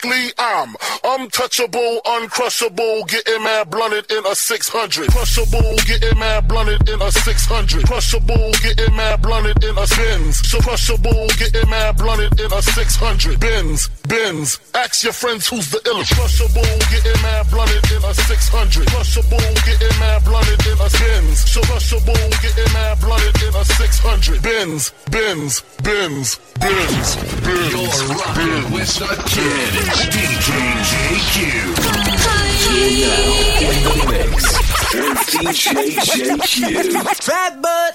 Lyrically, I'm untouchable, uncrushable, getting mad blunted in a 600. Crushable, getting mad blunted in a 600. Crushable, getting mad blunted in a Benz. So crushable, getting mad blunted in a 600. Benz. Ask your friends who's the illest. Crushable, getting mad blunted in a 600. Crushable, getting mad blunted in a Benz. So crushable, getting mad blunted in a 600. Benz. You're rocking with the kid. It's DJ JQ. In the mix with DJ JQ. Fat butt.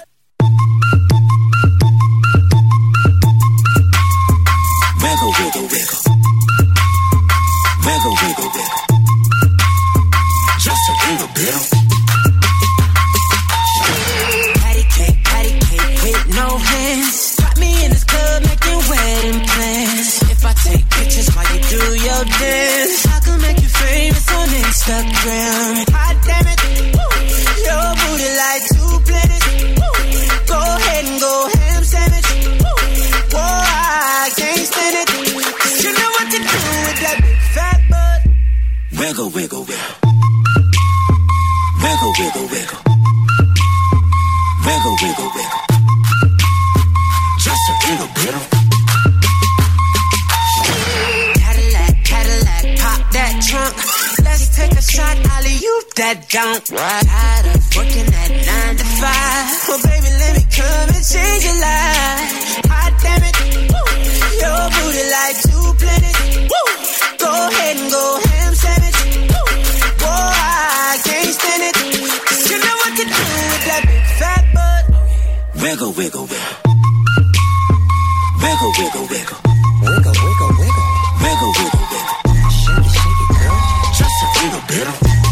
Wiggle, wiggle, wiggle. Wiggle, wiggle, wiggle. Just a little bit. Patty cake with no hands. Got me in this club making wedding plans. If I take pictures while you do your dance, I can make you famous on Instagram. Hot damn it, your booty like 2 planets. Go ahead and go ham sandwich. Whoa, I can't stand it. You know what to do with that big fat butt. Wiggle, wiggle, wiggle. Wiggle, wiggle, wiggle. Wiggle, wiggle, wiggle. Just a little bit. Cadillac, pop that trunk. Let's take a shot, alley-oop that junk. Tired of working at 9 to 5. Well, baby, let me come and change your life. Hot damn it, your booty like 2 planets. Go ahead and go ham sandwich. Whoa, I can't stand it. You know what to do with that big fat butt. Wiggle, wiggle, wiggle. Wiggle, wiggle, wiggle. Wiggle, wiggle, wiggle. Wiggle, wiggle, wiggle. Shake it, girl. Just a little bit.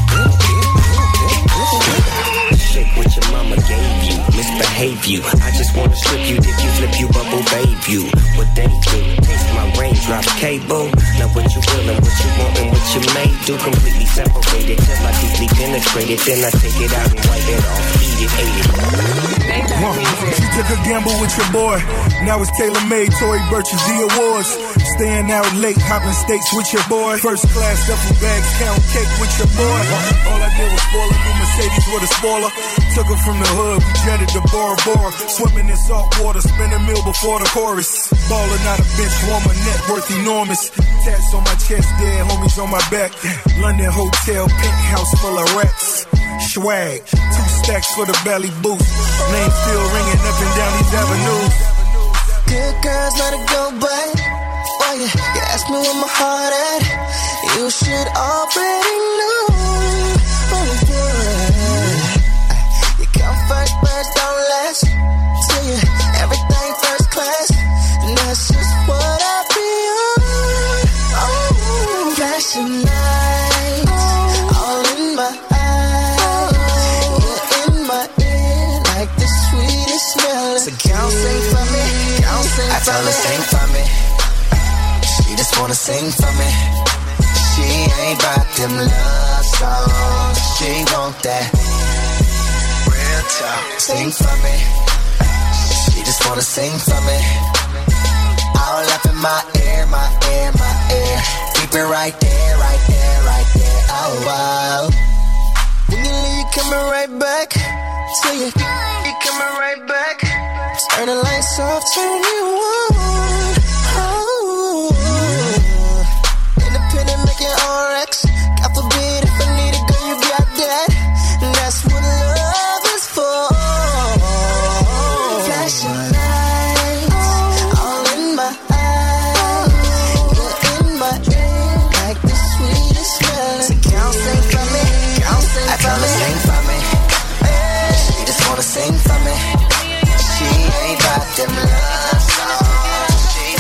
Shake what your mama gave you. Misbehave you. I just wanna strip you, dip you, flip you, bubble babe you. What they do? Taste my range, drop a cable. Now what you will and what you want and what you may do. Completely separated till I deeply penetrate it. Then I take it out and wipe it off. Eat it, ate it. She took a gamble with your boy. Now it's tailor-made, Tory Burch's the awards. Staying out late, hopping steaks with your boy. First class duffel bags, count cake with your boy. All I did was spoil a new Mercedes with a spoiler. Took her from the hood, we jetted to Bora Bora. Swimming in salt water, spin a meal before the chorus. Ballin' out a bench warmer, net worth enormous. Tats on my chest, dead homies on my back. London hotel, penthouse full of rats. Swag, 2 stacks for the belly boost. Name still ringing up and down these avenues. Good girls, let it go back. Oh yeah, you ask me where my heart at. You should already know. Oh yeah, you come first, but don't last. Tell you everything first class, and that's just what I be on. Oh, flashing lights, all in my eyes. You're in my ear like the sweetest smell. So girl, sing for me, girl, sing for me. I tell her sing for me. She just wanna sing for me. She ain't about them love songs. She want that real talk. Sing for me. She just wanna sing for me. All up in my ear, my ear, my ear. Keep it right there, right there, right there. Oh wow. When you leave, you coming right back. Till you coming right back. Turn the lights off, turn you on. Oh, independent, making RX. God forbid if I need a girl, you got that. And that's what love is for. Flashing lights, all in my eyes. You're in my ear, like the sweetest smell. So girl, sing for me, girl, sing for me. I tell her sing for me. She just wanna sing for me. She ain't about them love songs. She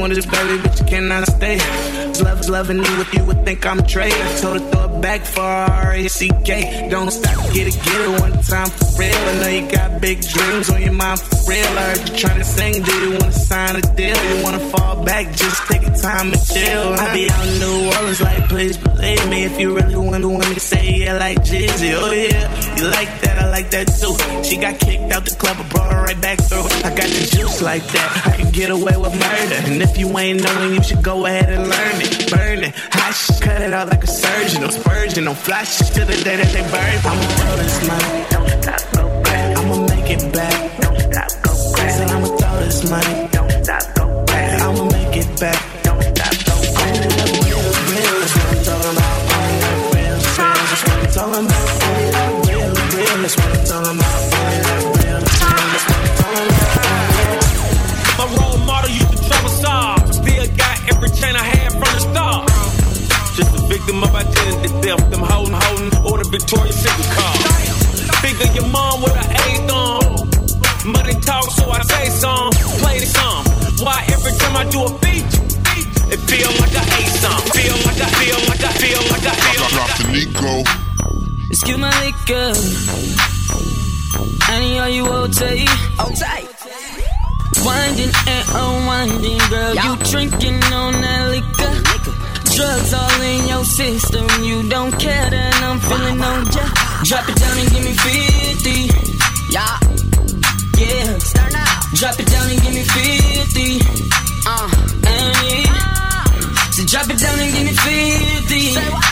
wanted this baby, but you cannot stay. Love's loving me with you would think I'm a traitor. Told her throw it back for R-A-C-K. Don't stop, get it one time for real. I know you got big dreams on your mind for real. I heard you trying to sing, do you wanna sign a deal? You wanna fall back, just take your time and chill. I be out in New Orleans like, please believe me. If you really want me to say yeah like Jeezy, oh yeah. You like that, I like that too. She got kicked out the club, I brought her right back through. I got the juice like that, I can get away with murder. And if you ain't knowing, you should go ahead and learn it. Burn it, hot shit, cut it out like a surgeon. No spurging, no flash shit till the day that they burn. I'ma throw this money, don't stop, go back. I'ma make it back, don't stop, go back. Said I'ma throw this money, don't stop, go back. I'ma make it back, don't stop, go back. Real, that's what I'm talking about. Real, that's what I'm talking about. Real, that's what I'm talking about. Real, that's what I'm talking about. My role model used to trouble solve. Still got every chain I had from the start. Just a victim of identity theft. Them holding, or the Victoria's Secret card. Figure your mom with an A on. Money talk, so I say some. Play the song. Why every time I do a feature, it feel like I ate some. Feel like I Drop the Nico. Excuse my liquor. Any are you OT? Winding and unwinding, girl. You drinking on that liquor. Drugs all in your system. You don't care that I'm feeling on ya. Drop it down and give me 50. Yeah. Start now. Drop it down and give me 50. And yeah. So drop it down and give me 50. Say what?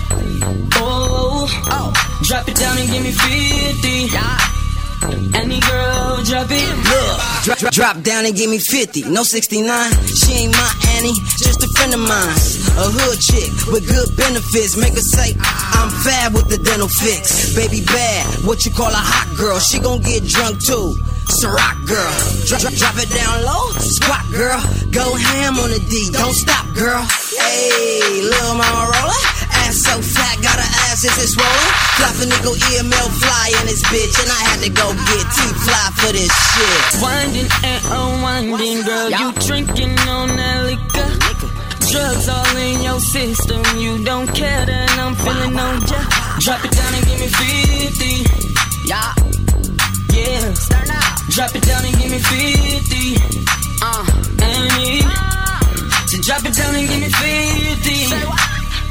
Oh. Drop it down and give me 50. Yeah. Any girl, drop it. Look, drop down and give me 50. No 69. She ain't my Annie, just a friend of mine. A hood chick with good benefits. Make her say, I'm fab with the dental fix. Baby bad, what you call a hot girl. She gon' get drunk too. Ciroc girl. Drop it down low. Squat girl. Go ham on the D. Don't stop, girl. Hey, little mama roller. Ass so fat, got her ass, is it swollen? Flopping nigga EML fly in this bitch, and I had to go get T-Fly for this shit. Winding and unwinding, girl, you drinking on that liquor. Drugs all in your system, you don't care that I'm feeling on ya. Drop it down and give me 50. Yeah. Start now. Drop it down and give me 50. And yeah. So drop it down and give me 50. Say what?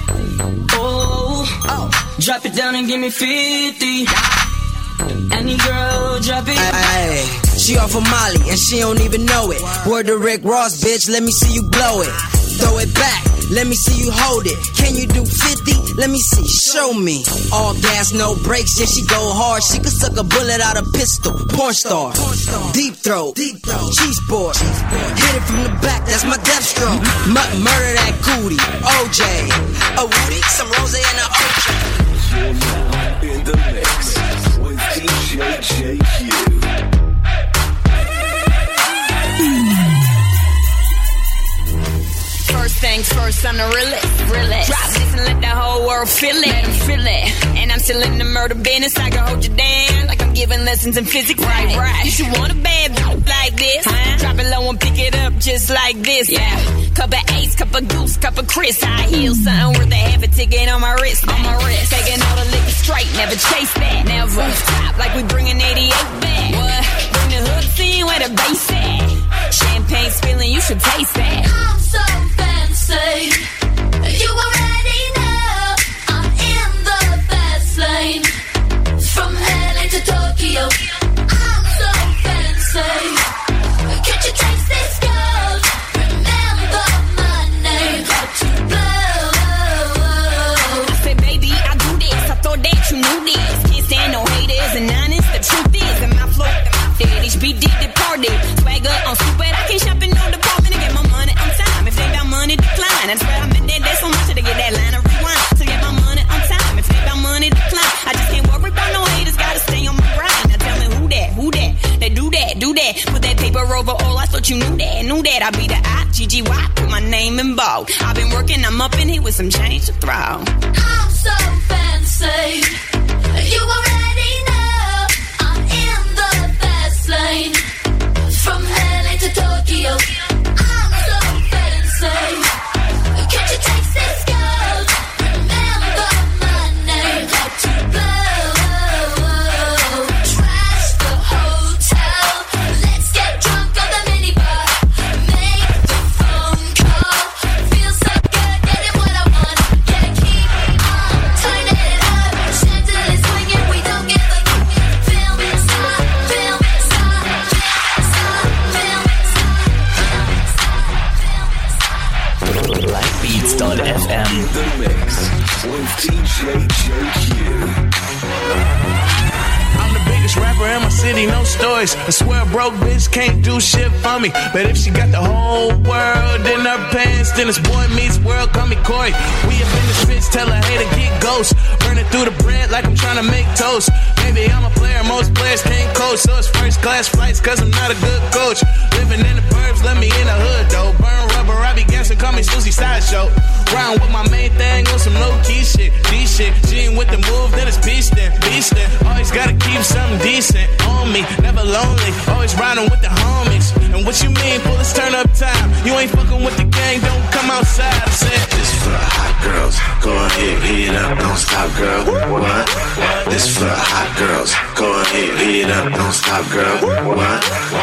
Oh. Drop it down and give me 50. Any girl, drop it. Ay, she off of Molly and she don't even know it. Word to Rick Ross, bitch, let me see you blow it. Throw it back, let me see you hold it. Can you do 50? Let me see, show me. All gas, no brakes, yeah, she go hard. She could suck a bullet out of pistol. Porn star, deep throat, cheese board. Hit it from the back, that's my death stroke. Murder that cootie, OJ. A Woody, some Rose and a OJ. You're now in the mix with DJ JQ. First things first, I'm the realest. Drop this and let the whole world feel it. Let them feel it. And I'm still in the murder business. I can hold you down like I'm giving lessons in physics. Right. You should want a bad like this. Drop it low and pick it up just like this. Yeah. Cup of Ace, cup of Goose, cup of Chris. High heels, something worth a half a ticket on my wrist. Taking all the liquor straight, never chase that. Never stop like we bringing 88 back. What? Bring the hooks in where the bass at. Champagne spilling, you should taste that. I'm so fancy. You already know I'm in the fast lane. From LA to Tokyo, I'm so fancy. Can't you taste this gold? Remember my name, to blow. I said, baby, I do this. I thought that you knew this. Can't stand no haters and honest. The truth is, in my flow, HBD departed. Swagger on stupid. I can't shop in no department to get my money on time. If they got money, decline. That's why I'm in there so much to get that line of rewind. To get my money on time. If they got money, decline. I just can't worry about no haters. Gotta stay on my grind. Now tell me who that? They do that. Put that paper over all. I thought you knew that. I be the I-G-G-Y. Put my name in bold. I've been working. I'm up in here with some change to throw. I'm so fancy. You already know I'm in the fast lane. From LA to Tokyo, I'm so fancy. I'm the biggest rapper in my city, no stories. I swear a broke bitch can't do shit for me. But if she got the whole world in her pants, then it's boy meets world, call me Corey. We up in the streets, tell a hater get ghost. Burning through the bread like I'm trying to make toast. Maybe I'm a player, most players can't coach. So it's first class flights, cause I'm not a good coach. Living in the burbs, let me in the hood though. Burn rubber, I be gassing, call me Susie Sideshow. Round with my main thing on some low key shit. D shit, she ain't with the move, then it's beastin'. Always gotta keep something decent on me, never lonely. Always riding with the homies. And what you mean, pull this turn up time? You ain't fucking with the gang, don't come outside. I said, this for the hot girls. Go ahead, heat it up, don't stop, girl. What? This for the hot girls. Go ahead, heat it up, don't stop, girl. What?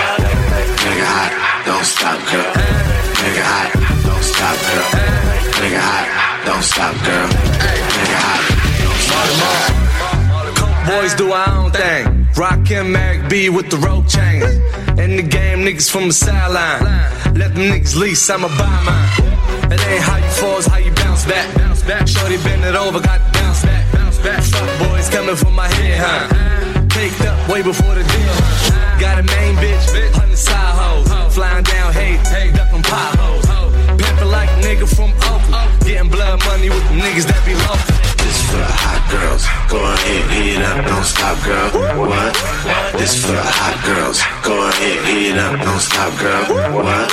Nigga hot, don't stop, girl. Nigga hot, don't stop, girl. Nigga hot, don't stop, girl. Nigga hot, don't stop, girl. Boys do our own thing. Rockin' Merrick B with the rope chain. In the game, niggas from the sideline. Let them niggas lease, I'ma buy mine. It ain't how you fall, it's how you bounce back. Shorty bend it over, got to bounce back. Fuck boys coming from my head, huh? Caked up way before the deal. Got a main bitch, 100 side hoes. Flying down hate, ducking potholes. Pimpin' like a nigga from Oakland. Getting blood money with the niggas that be local. This for the hot girls. Go ahead, heat it up, don't stop, girl. What? This for the hot girls. Go ahead, heat it up, don't stop, girl. What?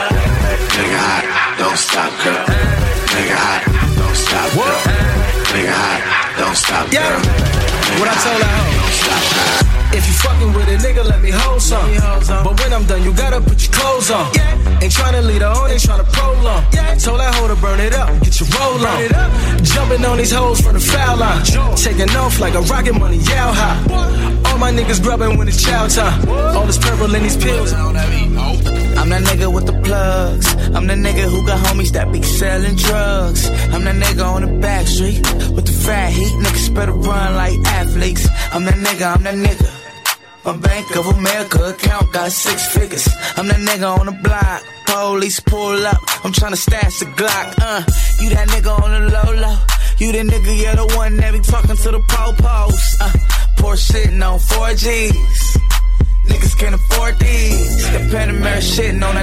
Nigga hot, don't stop, girl. Nigga hot, don't stop, girl. Nigga hot, don't stop, girl. What I told her, don't stop, girl. If you fucking with a nigga, let me hold some. But when I'm done, you gotta put your clothes on. Ain't tryna lead her on, ain't tryna prolong. Told that hoe to burn it up, get your roll on. Jumping on these hoes from the foul line. Taking off like a rocket money, yow high. All my niggas grubbing when it's chow time. All this purple in these pills. I'm that nigga with the plugs. I'm the nigga who got homies that be selling drugs. I'm the nigga on the back street with the fat heat. Niggas better run like athletes. I'm that nigga. My Bank of America account got 6 figures. I'm that nigga on the block. Police pull up. I'm tryna stash the Glock. You that nigga on the low. You the nigga, yeah, the one that be talking to the po-pos. Poor shitting on 4Gs. Niggas can't afford these. The Panamera shitting on a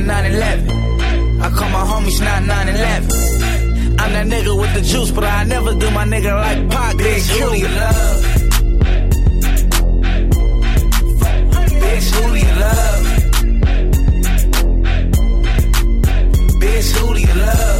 911. I call my homies not 911. I'm that nigga with the juice, but I never do my nigga like Pac. Bitch, who do you love? Bitch, who do you love? Bitch, who do you love?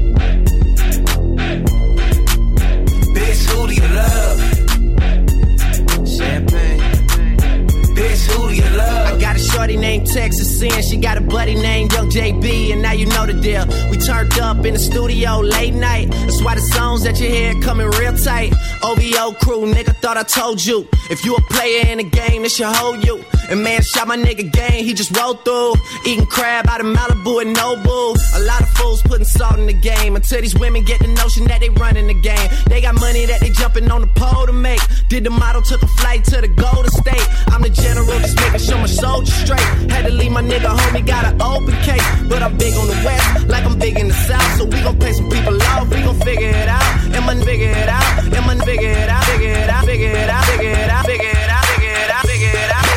Bitch, who do you love? Champagne. Bitch, who do you love? I got a shorty named Texas Sin. She got a buddy named Young JB, and now you know the deal. We turned up in the studio late night. That's why the songs that you hear coming real tight. OVO crew, nigga, thought I told you. If you a player in the game, it should hold you. And man, shot my nigga game, he just rolled through. Eating crab out of Malibu and Nobu. A lot of fools putting salt in the game. Until these women get the notion that they running the game. They got money that they jumping on the pole to make. Did the model, took a flight to the Golden State. I'm the general, just making sure my soldiers straight. Had to leave my nigga homie, got an open case. But I'm big on the west, like I'm big in the south. So we gon' pay some people off, we gon' figure it out. And man, figure it out. And man, figure it out. Figure it out. Figure it out. Figure it out. Figure it out. Figure it out. Figure it out.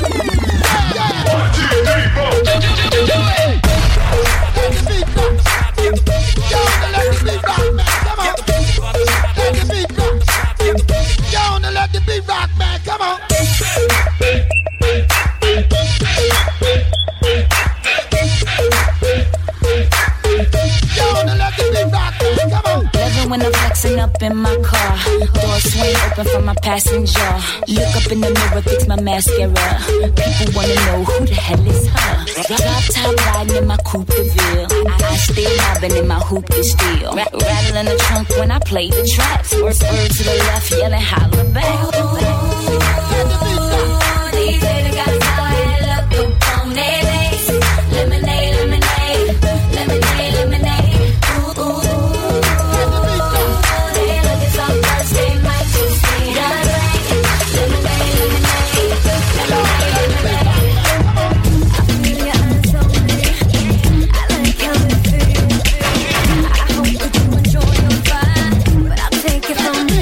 1, 2, 3, 4. Let the beat rock. Yo, let the beat rock, man. Come on. Let the beat rock. Yo, let the beat rock, man. Come on. When I'm flexing up in my car, door swing open for my passenger. Look up in the mirror, fix my mascara. People wanna know who the hell is her. Drop top riding in my Coupe de Ville. I stay mobbing in my hoop de steel. Rattling the trunk when I play the traps. Word to the left, yelling holla back. These haters got fire, look up on their face. Lemonade, lemonade, lemonade, lemonade. From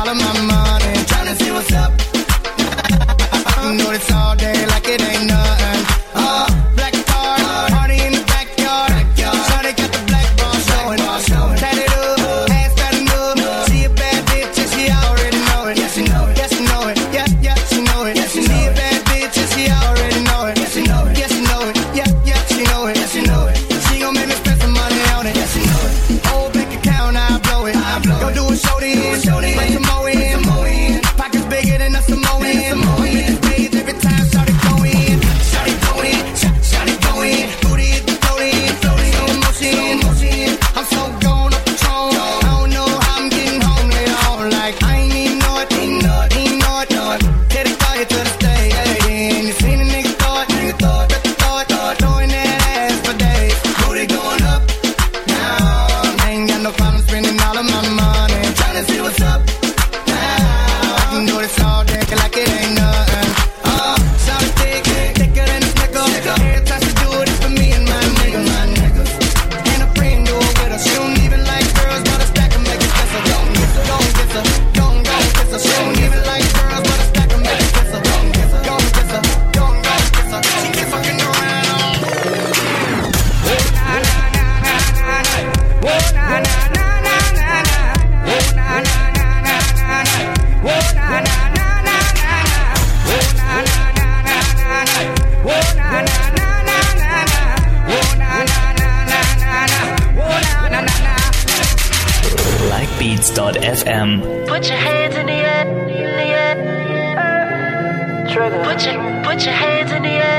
all of my money. Tryna see what's up. I know this all day like it ain't nothing. Black card, party in the backyard. Shawty got the black ball showing. Tat it up, ass fat enough. She a bad bitch and she already know it. Yeah, she know it. Yeah, she know it. Yeah, she know it. She a bad bitch and she already know it. Yeah, she know it. Yeah, she know it. Yeah, she know it. Yeah, she know it. She gon' make me spend some money on it. Yeah, she know it. Old bank account, I blow it. Go do a show then. Bring some more in. Pockets bigger than a Samoan. Every time shawty go in. Shawty go in. Booty hit the floating. Slow motion. I'm so gone up Patron. I don't know how I'm getting home later on. Like I ain't even know it. Get it quiet to the stage. And you seen a nigga thought. Throwing that ass for days. Booty going up. Now I ain't got no problem spending all of my money. Tryna see what's up. Now I can do this all day like it ain't nothing. Shawty thicker than a snicker. Every time she do it, it's for me and my niggas. And a friend do it with her. She don't even like girls, but a stack 'em make it kiss her. Don't kiss her. She don't even like girls, but a stack 'em make it kiss her. Don't kiss her. She keep fucking around. Likebeats.fm. Put your hands in the air, Trigger. Put your hands in the air.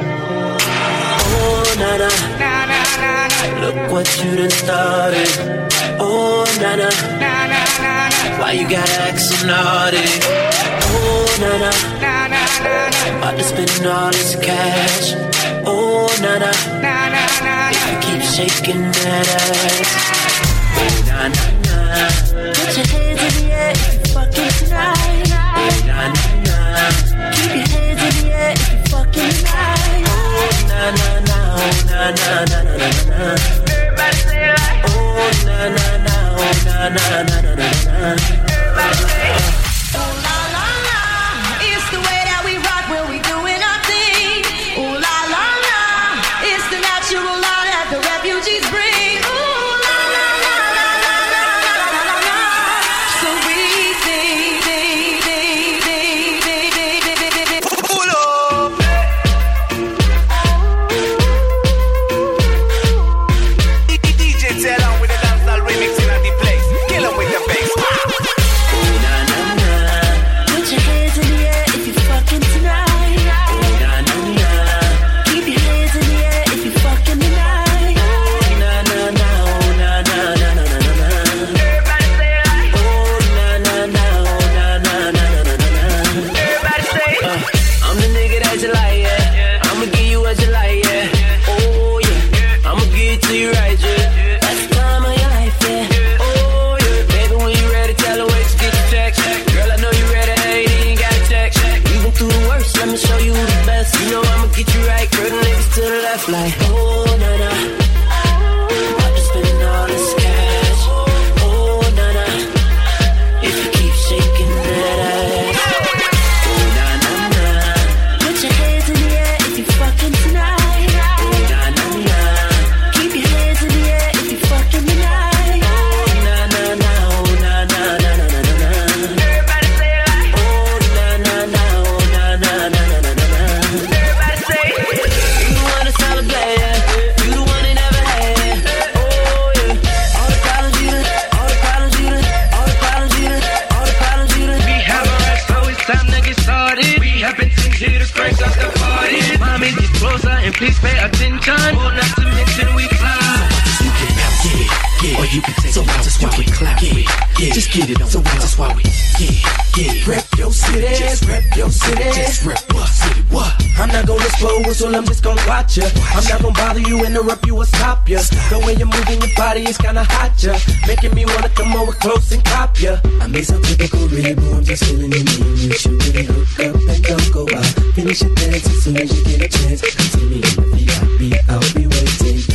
Oh, na-na. Look what you done started. Oh, na-na. Why you gotta act so naughty? Oh, na-na. About to spend all this cash. Oh, na-na. If you keep shaking that ass. Oh, na-na. Put your hands in the air if you fucking tonight. Oh, na-na. Keep your hands in the air if you fucking tonight. Oh, na-na-na. Oh, na-na-na-na-na-na. Everybody say it like. Oh, na-na-na. Oh, na-na-na-na-na-na. Everybody say it. Ooh la la la, it's the way that we rock when we doing our thing. Ooh la la la, it's the natural law that the refugees bring. Ooh la la la la la la la la la. So we sing. Pull up. DJ tell on with the dancehall remix in the place. Kill 'em with the bass. Put your hands in the air if you fucking tonight. Keep your hands in the air if you fucking tonight. Everybody say it like. Everybody say it. I'm the nigga that you like, yeah. I'ma give you what you like, yeah. Oh yeah, I'ma give it to you right, yeah. That's the time of your life, yeah. Oh yeah, baby, when you ready, tell her wait to get your check. Girl, I know you ready, hey, you ain't got to check. Even through the worst, let me show you who the best. You know I'ma get you right, girl, the niggas to the left, like oh na-na. About to spend all this cash. Oh na-na. If you keep shaking that ass. Oh na-na-na. Put your hands in the air if you fucking tonight. Na-na-na. Keep your hands in the air if you fucking tonight. Na-na-na. Oh na-na-na-na-na-na-na. Everybody say it like. Oh na-na-na. Oh na-na-na-na-na-na. Everybody say it. You the one that's all glad, yeah. You the one that never had. Oh yeah. All the problems you done. We have a rest, so it's time to get started. We have been here to crank up the party. Mommy, get closer and please pay attention. Oh, not to mention we fly. You can now get it, or you can take it out. That's why we clap. Just get it on. So that's why we get it. Rep your city, just rep your city. Just rep what city? What? I'm not gonna expose, so I'm just gonna watch ya. I'm not gonna bother you, interrupt you, or stop ya. The way you're moving your body is kinda hot, ya. Making me wanna come over close and cop ya. I made some typical rebel, I'm just feeling in me. You should really hook up and don't go out. Finish your dance as soon as you get a chance. Come see me in the VIP, I'll be waiting. Head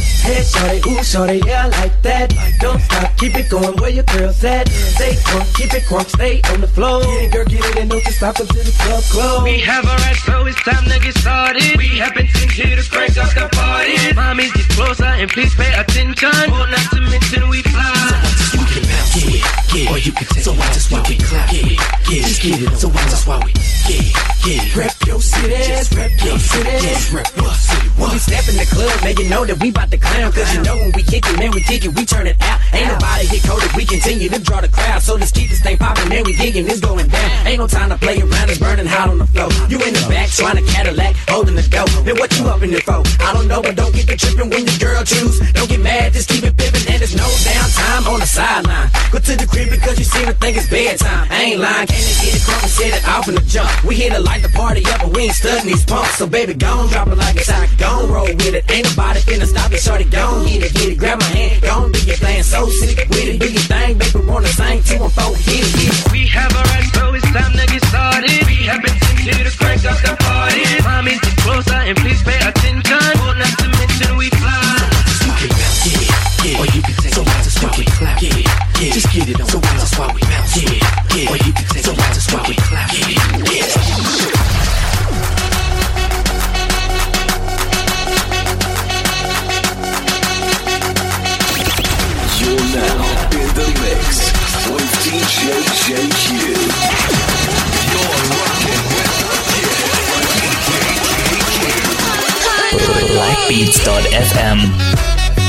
shorty, ooh, shorty, yeah, I like that. Don't stop, keep it going, where your girls at? Stay crunk, keep it crunk, stay on the floor. Get it, girl, get it, and don't you stop until the club close. We have a right, so it's time to get started. We have been sent here to crank up the party. Mommies, get closer and please pay attention. Oh, not to mention we fly. You can bounce, yeah, or you can take. So watch us while we clap, yeah, just get it. So watch us while we, yeah, rep your city, just rep your city, just rep your city. When we step in the club, man, you know that we bout to clown. Cause you know when we kick it, man, we kick it, we turn it out. Ain't nobody get coded, we continue to draw the crowd. So let's keep this thing poppin', man, we digging, it's going down. Ain't no time to play around, it's burning hot on the floor. You in the back, trying to Cadillac, holding the dough. Then what you up in there for? I don't know, but don't get the trippin' when your girl choose. Don't get mad, just keep it pimpin', and there's no downtime on the sideline. Go to the crib because you seem to think it's bedtime. I ain't lying, can't they get it crunk and set it off in the jump? We here to light the party up, but we ain't studying these pumps. So baby, gon' drop it like it's hot, gon' roll with it. Ain't nobody finna stop it, shorty, gon' get it, grab my hand, gon' do your thing, so sick with it, do your thing, baby, wanna sing 2 and 4, hit it. We have a right, so it's time to get started. We have been sent here to crank up the party. Mommies, get closer and please pay attention. Oh, not to mention we fly. You can bounce, yeah, or you can take. So watch us while we clap, yeah, just get it on. So watch us while we bounce, yeah, or you can take. So watch us while we clap, yeah. You're now in the mix with DJ JQ. You're rocking with Blackbeats.fm.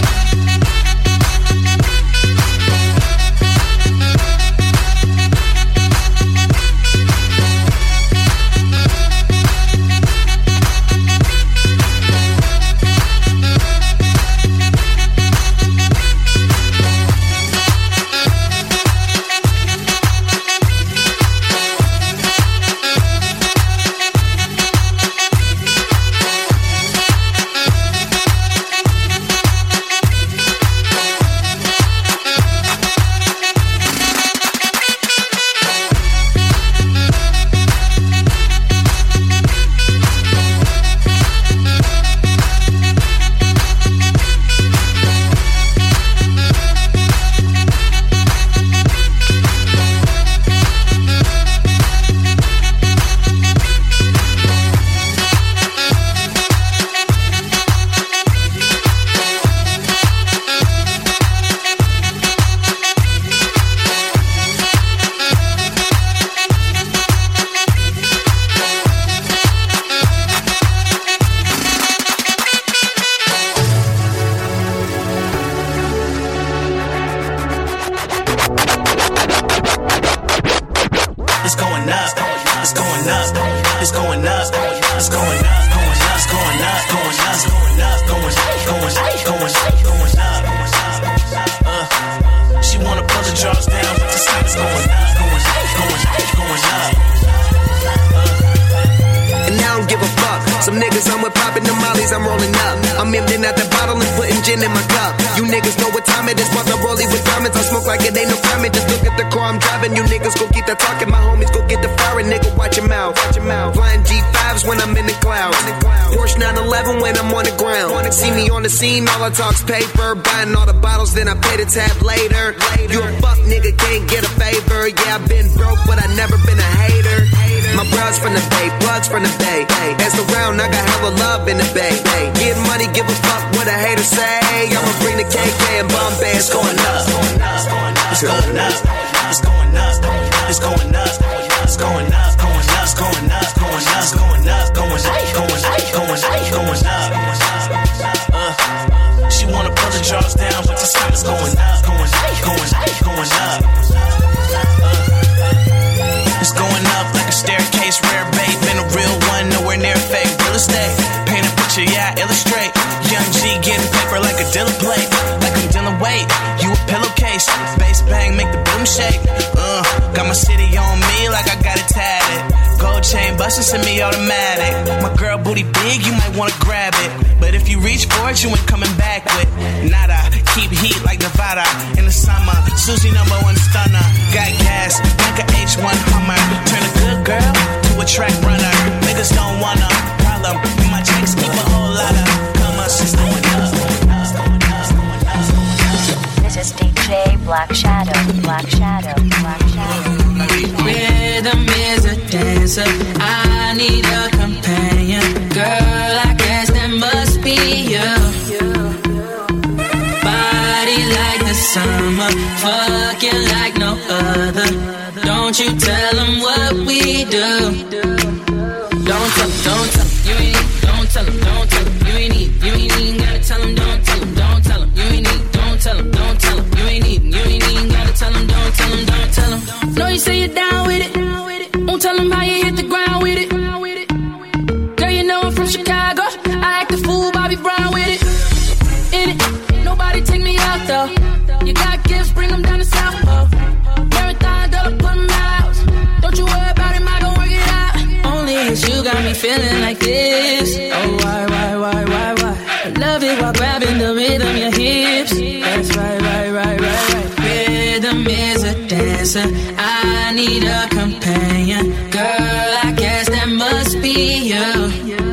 All I talk's paper, buying all the bottles, then I pay the tab later. You a fuck nigga, can't get a favor. Yeah, I've been broke, but I never been a hater. My bros from the Bay, plugs from the Bay. As around, I got hella love in the Bay. Get money, give a fuck what a hater say. I'ma bring the KK and Bombay. It's going up. It's going up. It's going up. It's going up. It's going up. It's going up. Going up. Going up. Going up. Going up. Going up. Going up. Going up. Going up. She wanna pull the jaws down, but the sky is going up, going up, going up, going up. It's going up like a staircase, rare bait, been a real one, nowhere near fake. Real estate, paint a picture, yeah, I illustrate. Young G getting paper like a dealer plate, like I'm dealing weight. You a pillowcase, bass bang, make the boom shake. Got my city on me like I got it tatted. Gold chain bustin', send me automatic. My girl booty big, you might wanna grab it. But if you reach for it, you ain't coming back with nada. Keep heat like Nevada in the summer. Susie #1 stunner. Got gas like a H1 Hummer. Turn a good girl to a track runner. Niggas don't want a problem. My chicks keep a whole lot of commas. It's going up. Rhythm is a dancer. I need a companion. Girl, I guess that must be you. Body like the summer, fucking like no other. Don't you tell them what we do. Don't tell them, you ain't need. Don't tell them, you ain't need. You ain't even gotta tell them, don't tell them, you ain't need. Don't tell them, you ain't need. You ain't even gotta tell them, don't tell them. Know you say you're down with it. Won't tell them how you hit the ground with it. Girl, you know I'm from Chicago. I act a fool, Bobby Brown with it. In it, nobody take me out though. You got gifts, bring them down to South Pole. Marathon, dollar, put them out. Don't you worry about it, I gon' work it out. Only cause you got me feeling like this. Oh, why? I love it while grabbing the rhythm, your hips. That's right. Rhythm is a dancer. I need a companion. Girl, I guess that must be you.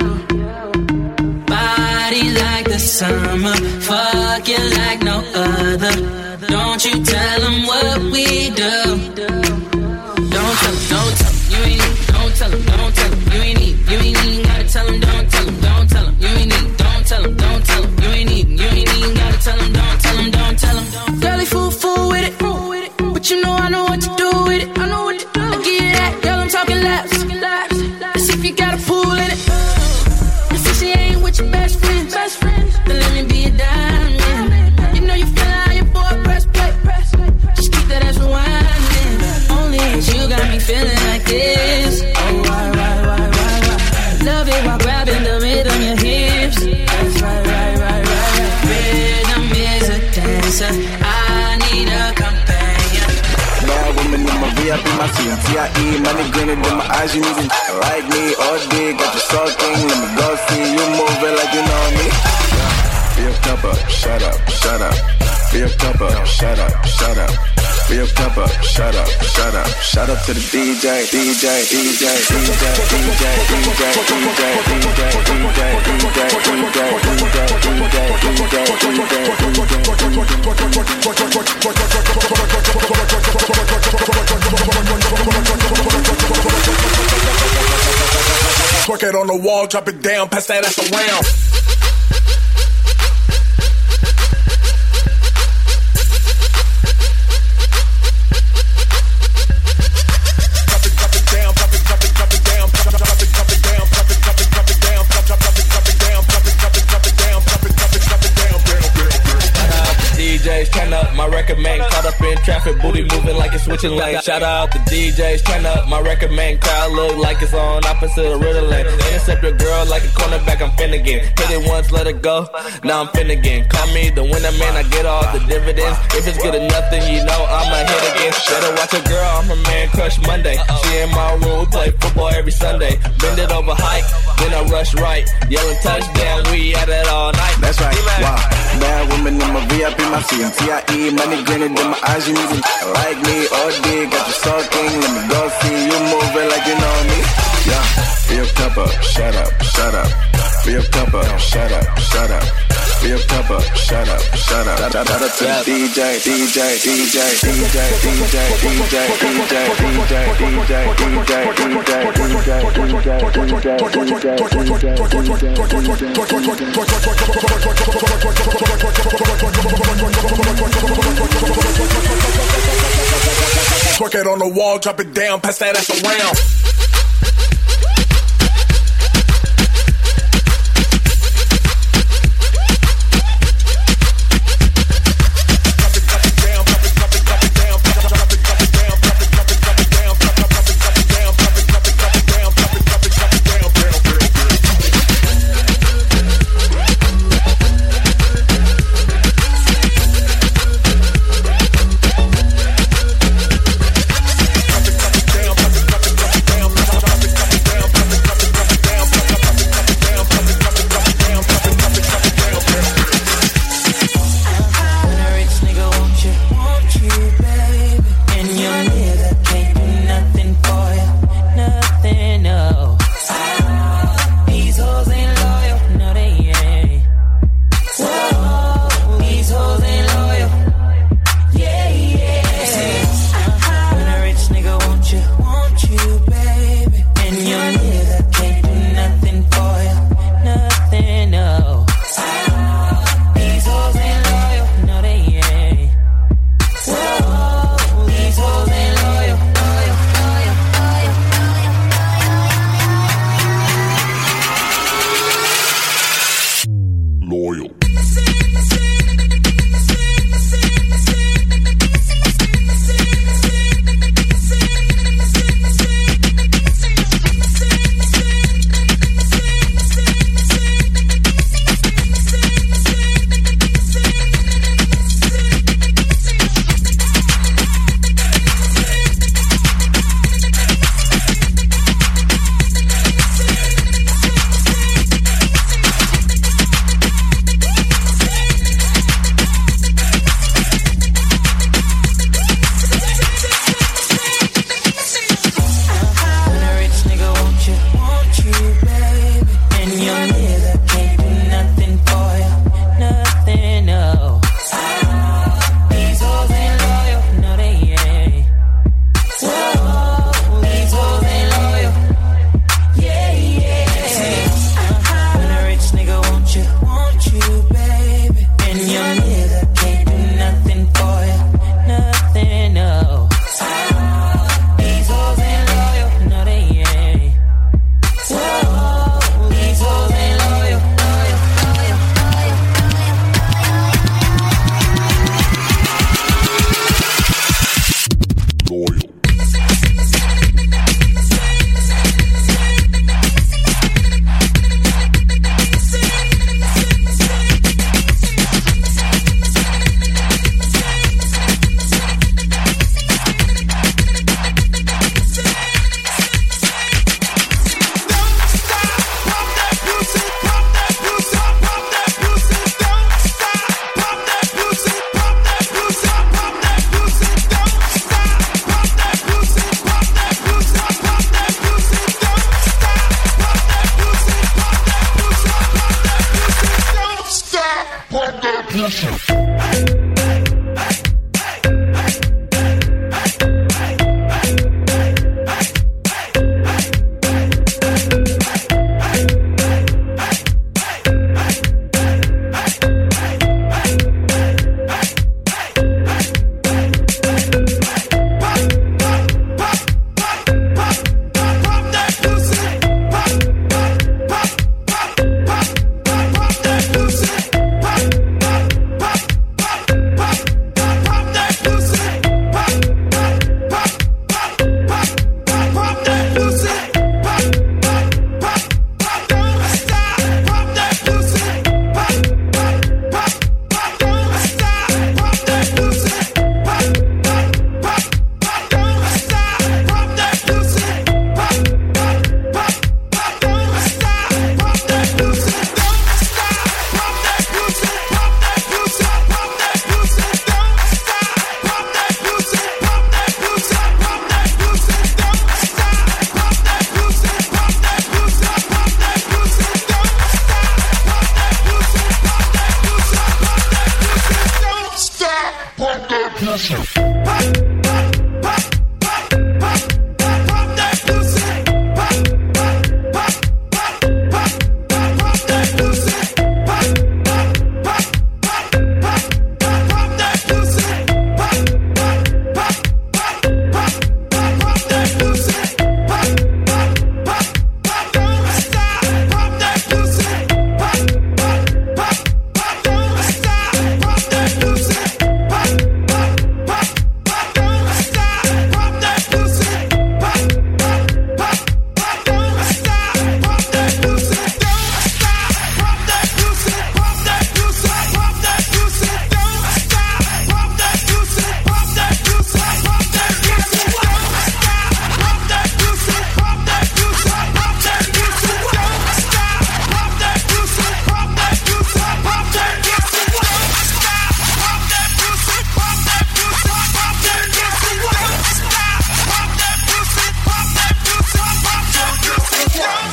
Body like the summer, fucking like no other. Don't you tell them what we do. Don't tell them, you ain't need. Don't tell them, you ain't need. You ain't even gotta tell them, don't tell them, you ain't need. Don't tell them, you ain't need. You ain't even gotta tell them, don't tell them. Girl, they fool with it. But you know I know what to do with it. I give you that, girl, I'm talking laps. Let's see if you got a pool in it. And since she ain't with your best friends, then let me be a diamond. You know you feel how your boy press play. Just keep that ass rewinding. Only cause you got me feeling like this. Oh, why? Love it while grabbing the rhythm, your hips. That's right. Rhythm is a dancer. I need a companion. Bad woman in my VIP, my CMTIE. Money grinning in my eyes, you need it like me all day. Got you sulking, let me go see you moving like you know me. Be a cup up, shut up. Be a cup up, shut up. Be a cup up, shut up. Shout out to the DJ. Twerk it on the wall, drop it down, pass that ass around. DJs, turn up, my record man caught up in traffic, booty moving like it's switching lanes. Shout out the DJs, turn up, my record man crowd look like it's on opposite of Ritalin. Intercept your girl like a cornerback, I'm Finnegan. Hit it once, let it go, now I'm Finnegan. Call me the winner man, I get all the dividends. If it's good enough, then you know I'ma hit again. Better watch a girl, I'm her man crush Monday. She in my room, we play football every Sunday. Bend it over hike, then I rush right. Yelling touchdown, we at it all night. That's right, wow. Bad woman in my VIP, my CMTIE. Money grinning in my eyes, you need it like me all day. Got you sulking, let me go see you moving like you know me. Yeah, be a cup up, shut up. Be a cup up, shut up. Be a cup up, shut up. Shout out to the DJ. Twerk it on the wall, drop it down, pass that ass around. you, baby. And your nigga can't do nothing for you. Nothing, no. These hoes ain't loyal, no they ain't. Whoa, these hoes ain't loyal, loyal, loyal, loyal, loyal.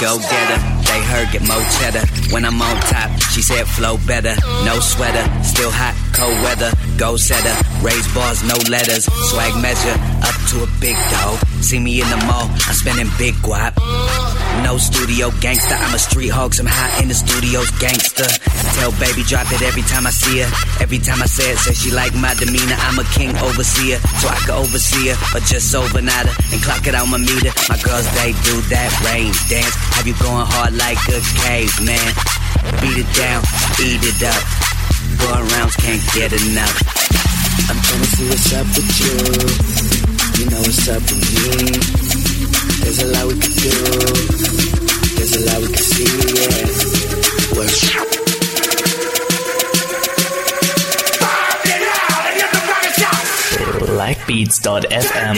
go-getter. They heard get more cheddar. When I'm on top, she said flow better. No sweater, still hot, cold weather. Go setter, raise bars, no letters. Swag measure, up to a big dog. See me in the mall, I'm spending big guap. No studio gangster, I'm a street hog. I'm hot in the studio's gangster. Tell baby drop it every time I see her. Every time I say it, say she like my demeanor. I'm a king overseer, so I can oversee her. Or just overnight her and clock it on my meter. My girls, they do that range dance. Have you going hard like a caveman? Beat it down, eat it up. Going rounds, can't get enough. I'm tryna see what's up with you. You know what's up with me. There's a lot we can do. There's a lot we can see, yeah. Likebeats.fm.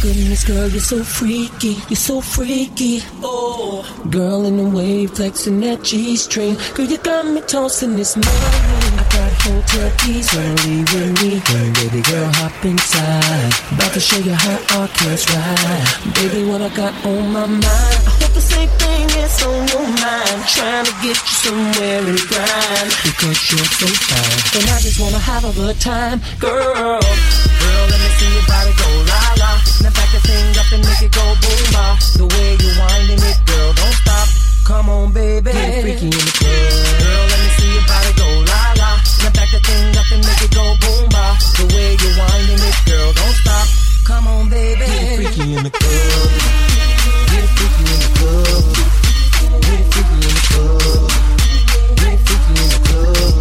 goodness, girl, you're so freaky. You're so freaky. Oh, girl in the wave, flexing that G-string. Girl, you got me tossing this money. I got hotel keys, wanna leave with me. Baby girl, hop inside. About to show you how our kids ride. Baby, what I got on my mind. I hope the same thing is on your mind. Trying to get you somewhere and grind. Because you're so fine. And I just wanna have a good time, girl. Girl, let me see your body go la-la. Now back the thing up and make it go boom-ba. The way you're winding it, girl, don't stop. Come on, baby. Get freaky in the club. Girl, let me see your body go la-la. Now back the thing up and make it go boom-ba. The way you're winding it, girl, don't stop. Come on, baby. Get freaky in the club. Get freaky in the club. Get freaky in the club. Get freaky in the club.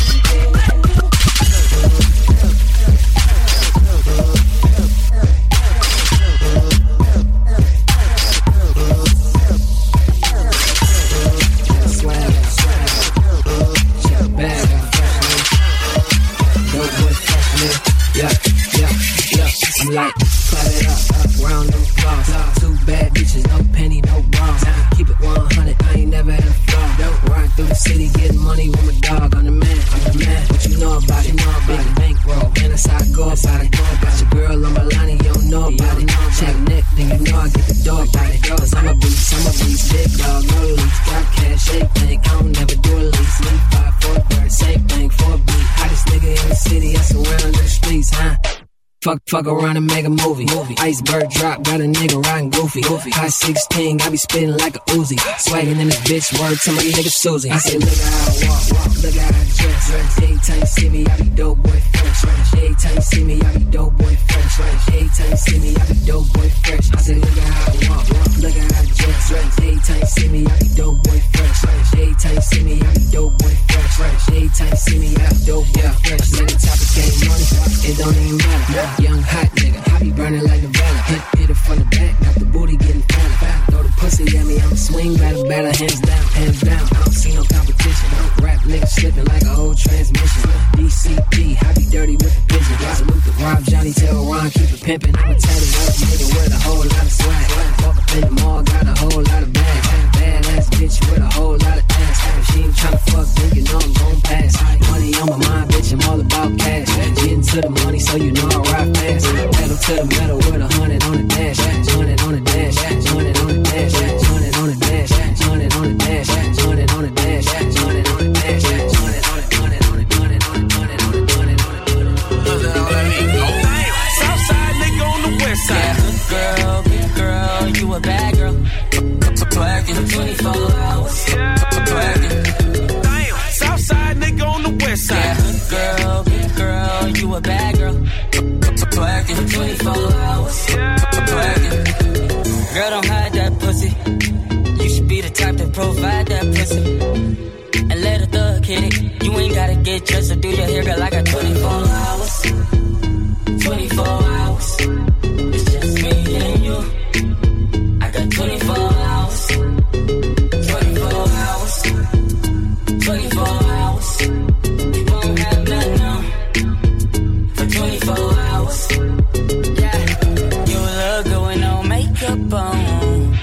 I'm like, clap it up, round no flaws. Two bad bitches, no penny, no bras. Keep it 100, I ain't never had a flaw. Ride through the city, getting money with my dog. I'm the man, what you know about it? Big bankroll, man, that's how I go about it. Got your girl on my line and you don't know about it. Check neck, then you know I get the door about it. Cause I'm a beast, big dog, no lease. Got cash, shake bank, I don't never do a lease. Leave 5 for a bird, same thing for a beat. Hottest nigga in the city, I surround the streets, huh? Fuck around and make a movie. Iceberg drop, got a nigga riding goofy. High 16, I be spitting like a Uzi. Swaggin' in this bitch, word to my nigga Susie. I say, look at how I walk, look at how I dress. Every time you see me, I be dope boy fresh. Every time you see me, I be dope boy fresh. Every time you see me, I be dope boy fresh. I say, look at how I walk, look at how I dress. Every time you see me, I be dope boy fresh. Every time you see me, I be dope boy fresh. Every time you see me, I be dope boy fresh. Nigga top of game money, it don't even matter. Young hot nigga, I be burning like Nevada. Hit it from the back, got the booty getting fatter. Throw the pussy at me, I'ma swing batter, hands down, hands down. I don't see no competition. Rap nigga slipping like a whole transmission. DCP, I be dirty with the pigeon. Salute the Rob, Johnny, tell Ron, keep it pimpin'. I'm a tatted up nigga with a whole lot of swag. Walk up in the mall, got a whole lot of bags. Badass bitch with a whole lot of ass. If she ain't tryna fuck, then you know I'm gon' pass. Money on my mind, bitch, I'm all about cash. Getting to the money, so you know I ride fast. Pedal to the metal with 100 on the dash. 100 on the dash. 100 on the dash. 100 on the dash. 100 on the dash. 100 on the dash. 100 on the dash. 100 on the Southside nigga on the west side. Good girl, you a bad girl. Twerking 24 hours. Twerking. Damn, Southside nigga on the west side. Good girl, you a bad girl. Twerking 24 hours. Twerking. Girl, don't hide that pussy. You should be the type to provide that pussy. And let a thug hit it. You ain't gotta get dressed or do your hair, girl. I got 24 hours. 24 hours. It's just me and you. I got 24 hours. 24 hours. 24 hours. You won't have nothing on for 24 hours. Yeah, you look good with no makeup on.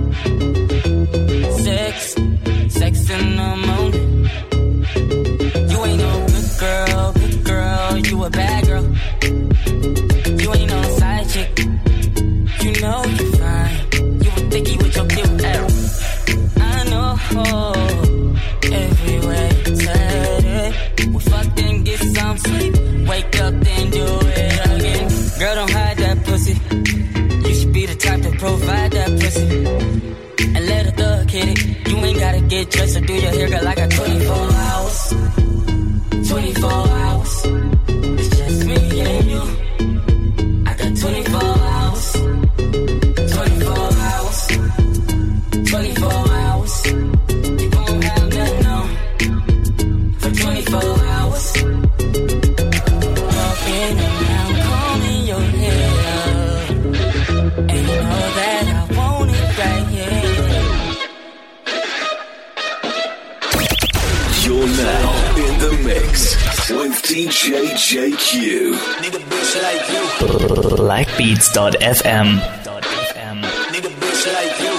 Sex in the morning. You ain't no good girl, you a bad girl. You ain't no side chick. You know you fine. You a thicky with your cute ass. I know. Everywhere you said it. We fucked and get some sleep. Wake up then do it again. Girl, don't hide that pussy. You should be the type to provide that pussy. And let a thug hit it. You ain't gotta get dressed or do your hair, girl. I got 24 hours. 24 hours. It's just me and you. I got 24 hours. 24 hours. 24 hours. You won't have nothing on for 24 hours. Walking around, combing your hair. And you know that I want it right here. You're now in the mix with JQ. Need a bitch like you. Blackbeats.fm. Need a bitch like you.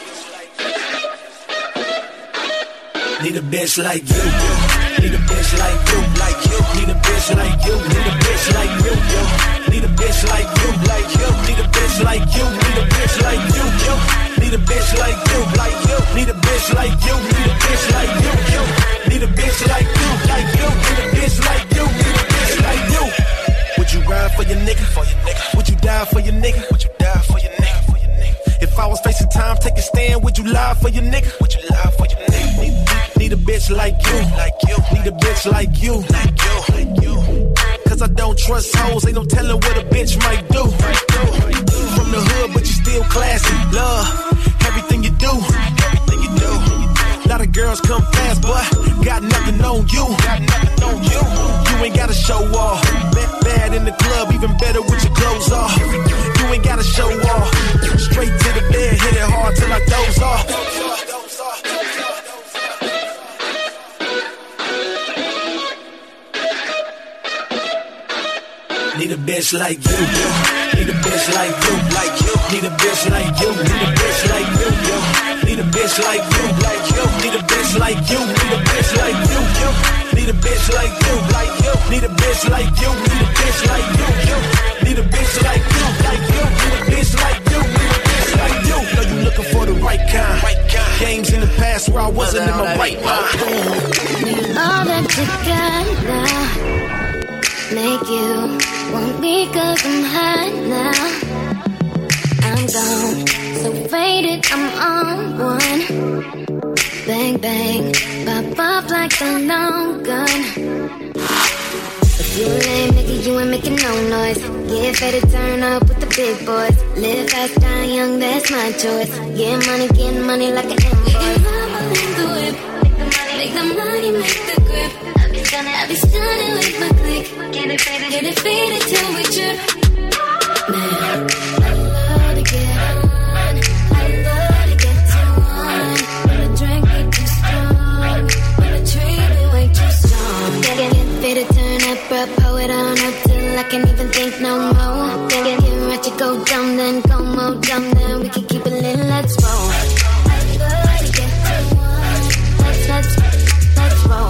Need a bitch like you. Need a bitch like you, like you. Need a bitch like you. Need a bitch like you, yo. Need a bitch like you, like you. Need a bitch like you. Need a bitch like you, yo. Need a bitch like you, like you. Need a bitch like you. Need a bitch like you, yo. Need a bitch like you, like you. Need a bitch like you. Need a bitch like you. Would you ride for your nigga? For your nigga. Would you die for your nigga? Would you die for your nigga? For your nigga. If I was facing time, take a stand. Would you lie for your nigga? Would you lie for your nigga? Need a bitch like you, like you. Need a bitch like you, like you, like you. Cause I don't trust hoes, ain't no telling what a bitch might do. From the hood, but you still classy. Love everything you do, everything you do. Lot of girls come fast, but got nothing on you. Got nothing on you. You ain't gotta show off. Bad in the club, even better with your clothes off. You ain't gotta show off. Straight to the bed, hit it hard till I doze off. Need a bitch like you, yo. Need a bitch like you, like you. Need a bitch like you, need a bitch like you, yo. Need a bitch like you, like you. Need a bitch like you, need a bitch like you, yo. Need a bitch like you, like you. Need a bitch like you, need a bitch like you, yo. Need a bitch like you, like you. Need a bitch like you, need a bitch like you. Know you looking for the right kind. Games in the past where I wasn't in my right mind. All that you got now make you want me cause I'm hot now. I'm gone, so faded, I'm on one. Bang, bang, pop off like a long gun. If you ain't making, you ain't making no noise. Get ready to turn up with the big boys. Live fast, die young, that's my choice. Get money like an invoice. Make the whip, make the money, make the grip. I be stunning with my click. Get it faded till we trip. Man, I love to get on. I love to get too on. When the drink get too strong, when the tree be way too strong. Get faded, turn up, pull it on up till I can't even think no more. Get ratchet, go dumb, then go more dumb, then we can keep it lit, let's roll. I love to get too on. Let's roll.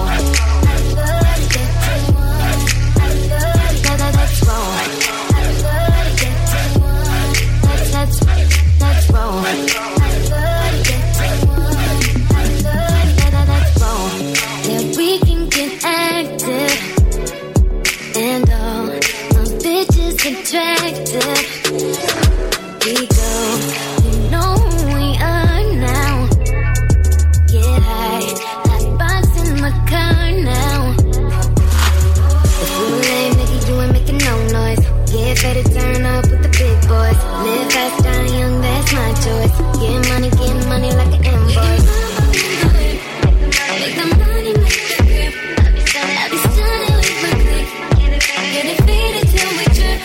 Attractive, we go, you know who we are now. Get high, hot box in my car now. If you ain't making, you ain't making no noise. Get ready to turn up with the big boys. Live fast, die young, that's my choice. Get money like an invoice. Make the money, make the grip. I be stunning with my click. Get it faded till we trip.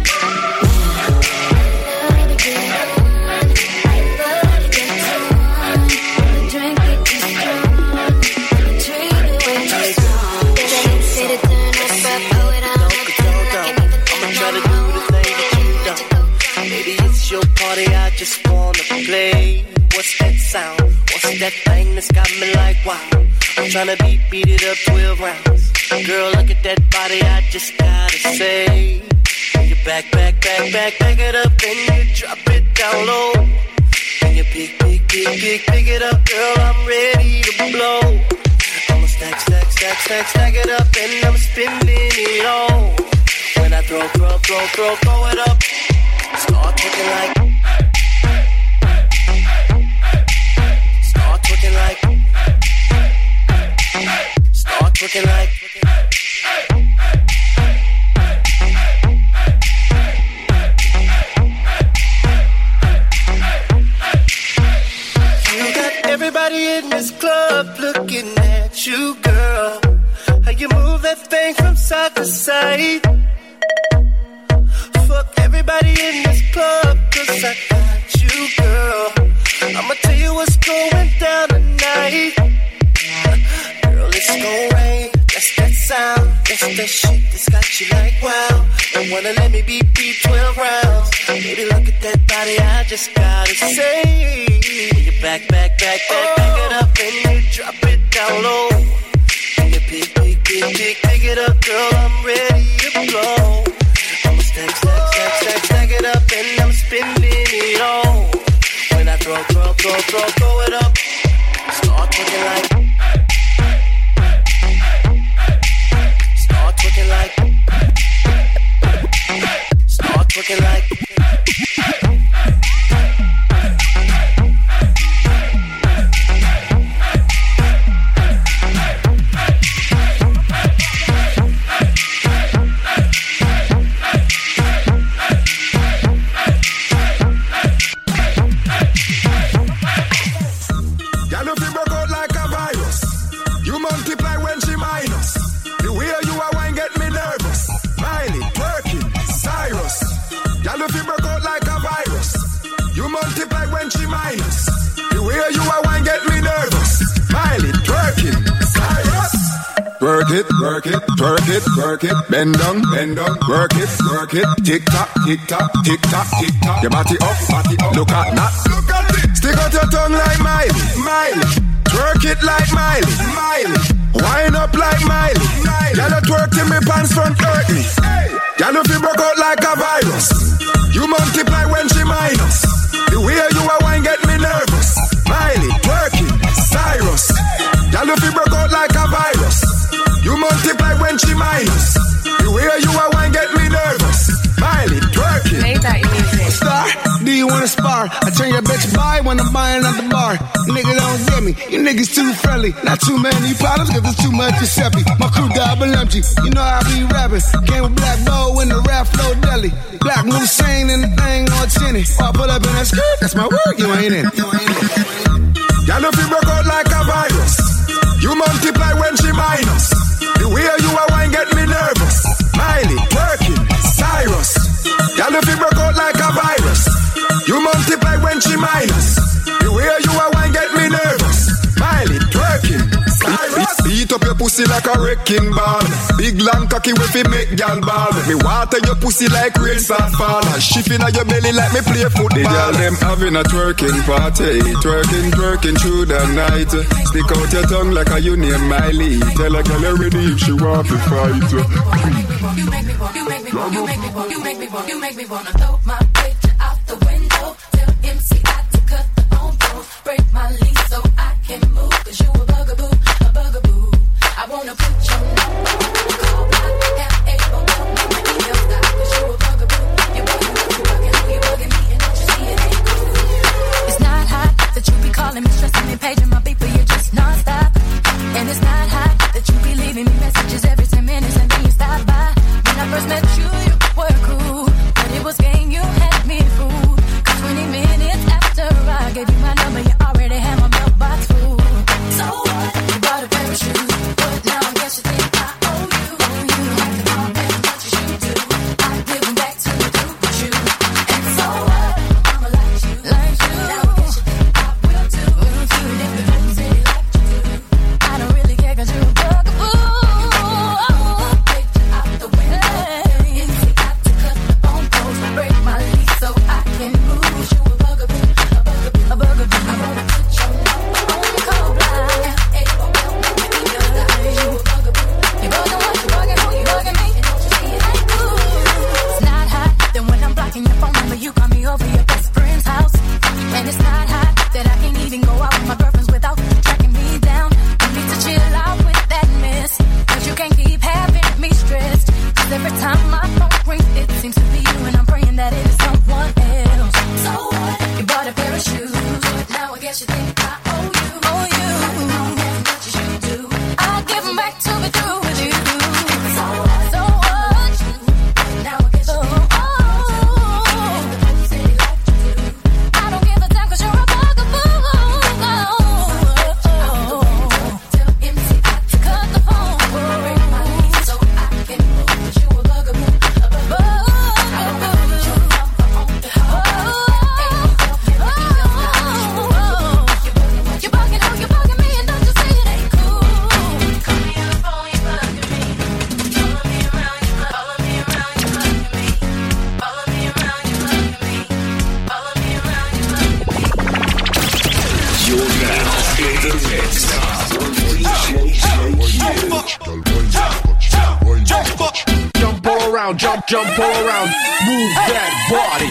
I just wanna play. What's that sound? What's that thing that's got me like wow? I'm tryna beat it up 12 rounds. Girl, look at that body, I just gotta say. You back it up and you drop it down low. And you pick it up, girl, I'm ready to blow. I'ma stack it up and I'm spending it all. When I throw it up, start looking like. Start looking like. You got everybody in this club looking at you, girl. How you move that thing from side to side. Fuck everybody in this club, cause I got you, girl. I'ma tell you what's going down tonight. Girl, it's gon' rain. That's that sound. That's that shit that's got treat you like wow. And wanna let me beat 12 rounds. Baby, look at that body, I just gotta say. When you back it up and you drop it down low. And you pick it up, girl, I'm ready to blow. I'ma stack it up and I'm spending it all. When I throw it up, start twerking like. Start twerking like. Start twerking like. Work it, bend down, work it, tick tock, your body up, look at that, stick out your tongue like Miley, twerk it like Miley, wind up like Miley, y'all twerk till me pants front hurt me, y'all if you broke out like a virus, you multiply when she minus, the way you are wine get me nervous, Miley, twerking, Cyrus, y'all if you broke out like a virus, you multiply when she minus. The way you are wine get me nervous. Miley, twerking. Made that music. Star, do you wanna spar? I turn your bitch by when I'm buying at the bar. Nigga don't get me, you niggas too friendly. Not too many problems cause it's too much Giuseppe. My crew double empty, you know I be rapping. Came with Black Bow in the rap flow deli. Black Moussain in the thing on tinny. I pull up in that skirt, that's my word, you ain't in. Y'all know if you broke out like a virus. You multiply when she minus. The way you are wine get me nervous. Miley, twerking, Cyrus. Y'all if you broke out like a virus. You multiply when she minus. The way you are wine get me nervous. Miley, twerking, Cyrus. Beat up your pussy like a wrecking ball. Big long cocky with me make y'all ball. Me water your pussy like rain start fall. Shift in your belly like me play football. The girl them having a twerking party. Twerking through the night. Stick out your tongue like a you name Miley. Tell a girl you're ready if she want to fight. You make me wanna throw my picture out the window. Tell MC I to cut the on flow. Break my lease so I can move. Cause you a bugaboo. I wanna put your name. Call my F-A-O. Make my email stop. Cause you a bugaboo. You bugging me and don't you see it ain't cool. It's not hot that you be calling me, stressing me, paging my beat, but you're just non-stop. And it's not hot that you be leaving me messages every 10 minutes and then you stop by. When I first met you, you were cool, but it was game, you had me Jump all around, jump all around, move that body.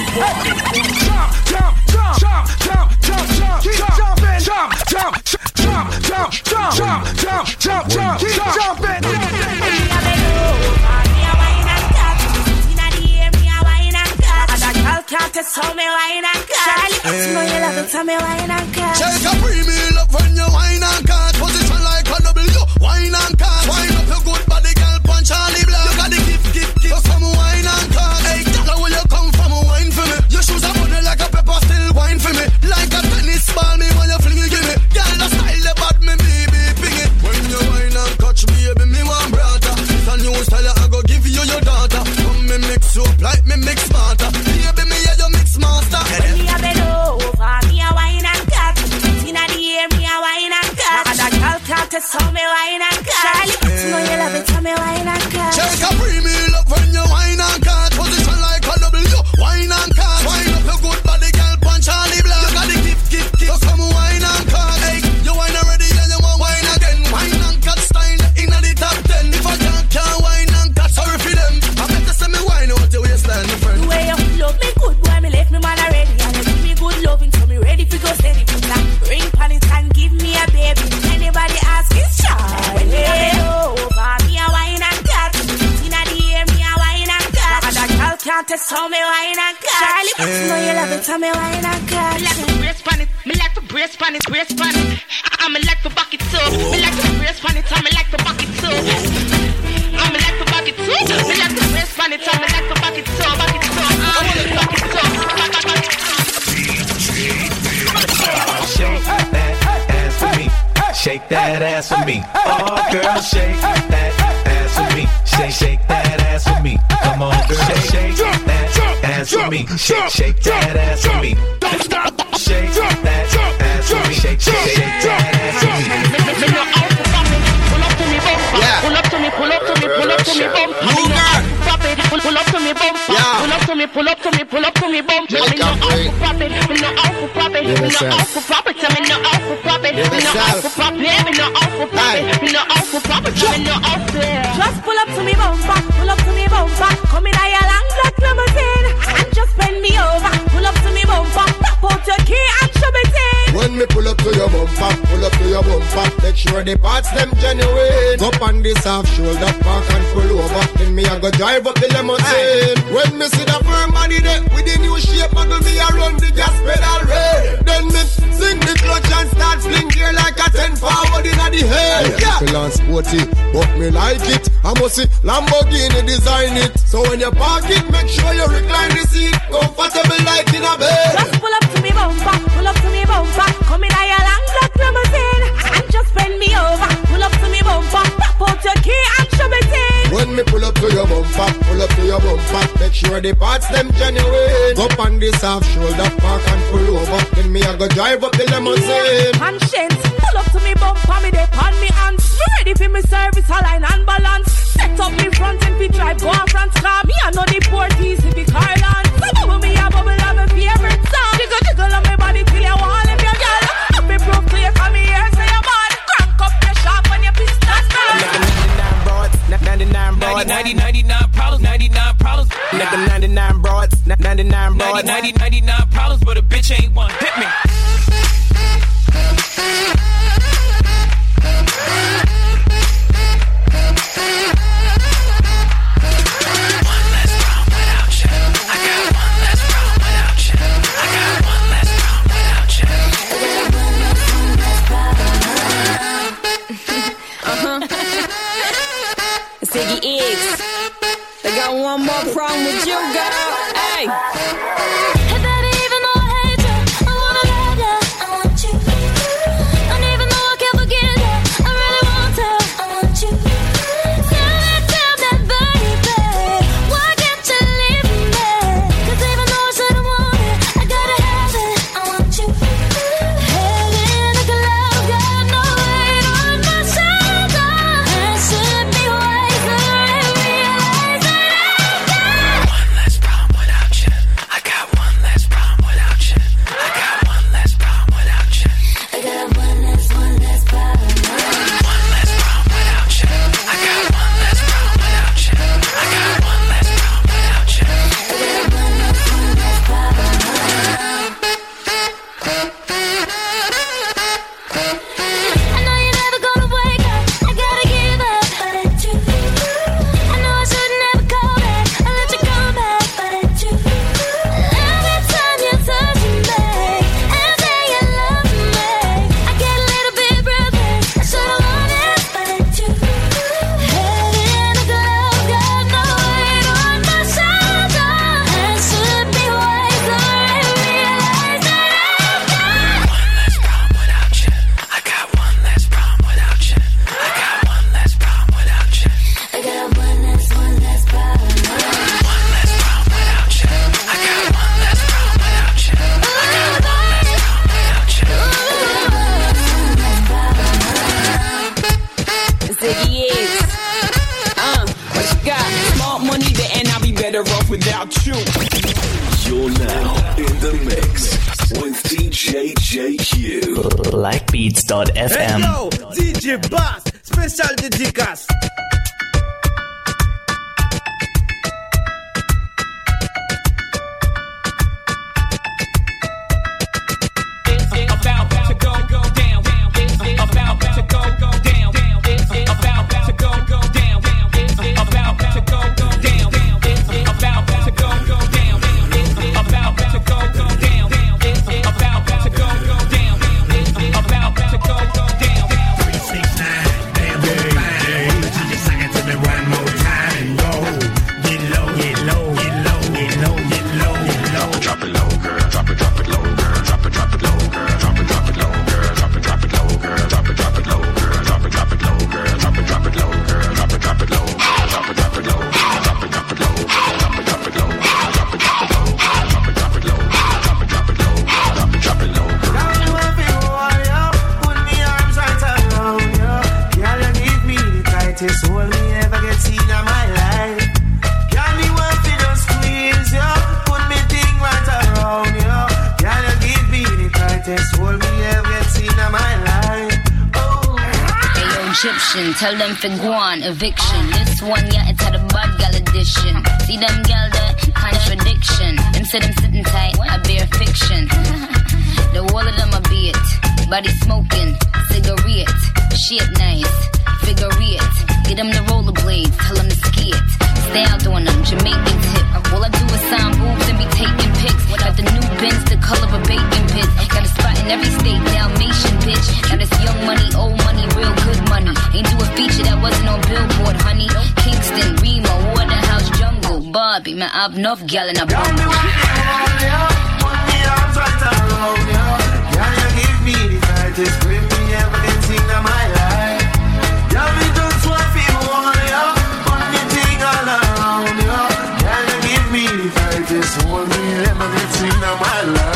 Can't tell me why not Charlie, you know you love it, tell me why not Take a premium love when you wine and cut. Position like a W, wine and cut. Wine up your good body, girl, punch Charlie Black. You got the gift, so some wine and cut. Hey, girl, where you come from, wine for me. Your shoes are funny like a pepper, still wine for me. Like a tennis ball, me when you fling it, give me. Girl, the style, the bad, me baby, ping it. When you wine and catch me, baby, me one brother. It's a new style, I go give you your daughter. Come me mix you up like me mix smarter. Baby, me yeah, you mix master. When me a bend over, me a wine and cut. Inna the air, me a wine and cut. Other girl can't tell me wine and cut. Charlie, you know you love it, tell me wine and cut. Take a premium love when you wine and cut. Position like a W, wine and cut. Wine up your good body, girl, punch Charlie Black. You got the gift, so come wine and cut. Hey, you wine already and you want wine again. Wine and cut style inna the top 10. If I can't wine and cut, sorry for them. I better say me wine out your waistline, my friend. The way you love me good, boy, me left me man already. And you give me good loving, so me ready for go steady. Put that ring pan it and give me a baby. Anybody ask is Charlie. When me a bend over, me a wine and cut. Inna the air, me a wine and cut. Other girl can't tell me wine and cut. Charlie, you know you love it, tell me wine and cut. Me like to brace pan it, me like to brace pan it, brace pan it. Me like to back it up, me like to brace pan it, me like to back it up. Me like to back it up, me like to brace pan it, me like to back it up, back it up, back it up, back it up. Shake that ass for me. Shake that ass for me. Oh, girl, shake that ass for me. Shake that ass for me. Come on, girl, shake that ass for me. Shake that ass for me. Shake that ass for me. Shake that ass for me. Pull up to me, bumper. Pull up to me, pull up to me, pull up to me, bumper. Pull up to me, bumper. Pull up to me, pull up to me, pull up to me, bumper. Me no out for profit, me no out for profit, me no out for profit, me no out for profit, me no out for profit, me no out for profit, me no out for profit, me no out there. Just pull up to me bumper, pull up to me bumper. Come in a long black limousine and just bend me over. Pull up to me bumper, pop out your key and shove it in. When me pull up to your bumper, pull up to your bumper. Make sure the parts them genuine. Up on this half shoulder, park and pull over. Then me I go drive up the limousine. When me see the firm body there with the new shape, muggle me a run the gas pedal red. Then me sing the clutch and start fling gear like a 10 forward inna the head. Yeah, feel on sporty, but me like it. I must see Lamborghini design it. So when you park it, make sure you recline the seat, comfortable like in a bed. Just pull up to me bumper, pull up to me bumper. Come in a long black limousine and just bend me over. Pull up to me bumper, pop out your key and shove it in. When me pull up to your bumper, pull up to your bumper. Make sure the parts them genuine. Up on this half shoulder, park and pull over. Then me I go drive up the limousine. Conscience, pull up to me bumper, me dey pan me hands. Me ready for me service, align and balance. Set up me front and we drive go on front car. Me I know the port easy be Carland. So bubble me a bubble of my favorite song. Jiggle jiggle on my body till you want live your girl. Up me proof clear from me here say your bad. Crank up your shop when your pistons burn. Nigga 99 broads, 99 problems, 99 problems. Nigga 99 broads, 99 broads, 99 problems, but a bitch ain't one. Hit me. Ziggy X, they got one more problem with you, girl. Hey. Hey baby, even though I hate you, I without you. You're now in the mix with DJ JQ. Blackbeats.fm. Hey yo, DJ Bass, special dédicace. Tell them for guan, eviction. This one, yeah, it's had a bad gal edition. See them gal there, contradiction. Them say them sitting tight, I bear fiction. The wall of them a be it. Body smoking, cigarette. Shit nice, figure it. Get them the rollerblades, tell them to ski it. Stay out on them, Jamaican tip. All I do is sign boobs and be taking pics. Got the new Benz, the color of bacon pits. Got a spot in every state, Dalmatian bitch. Now this young money, old money, real good money. Ain't do a feature that wasn't on Billboard, honey. Kingston, Remo, Waterhouse, Jungle, Barbie. Man, I've enough gal in a bumble. Put me arms right around you. Can you give me the tightest grip me ever can see in my life? Yeah, me just want to hold you. Put me thing all around you. Can you give me the tightest hold me ever can see in my life?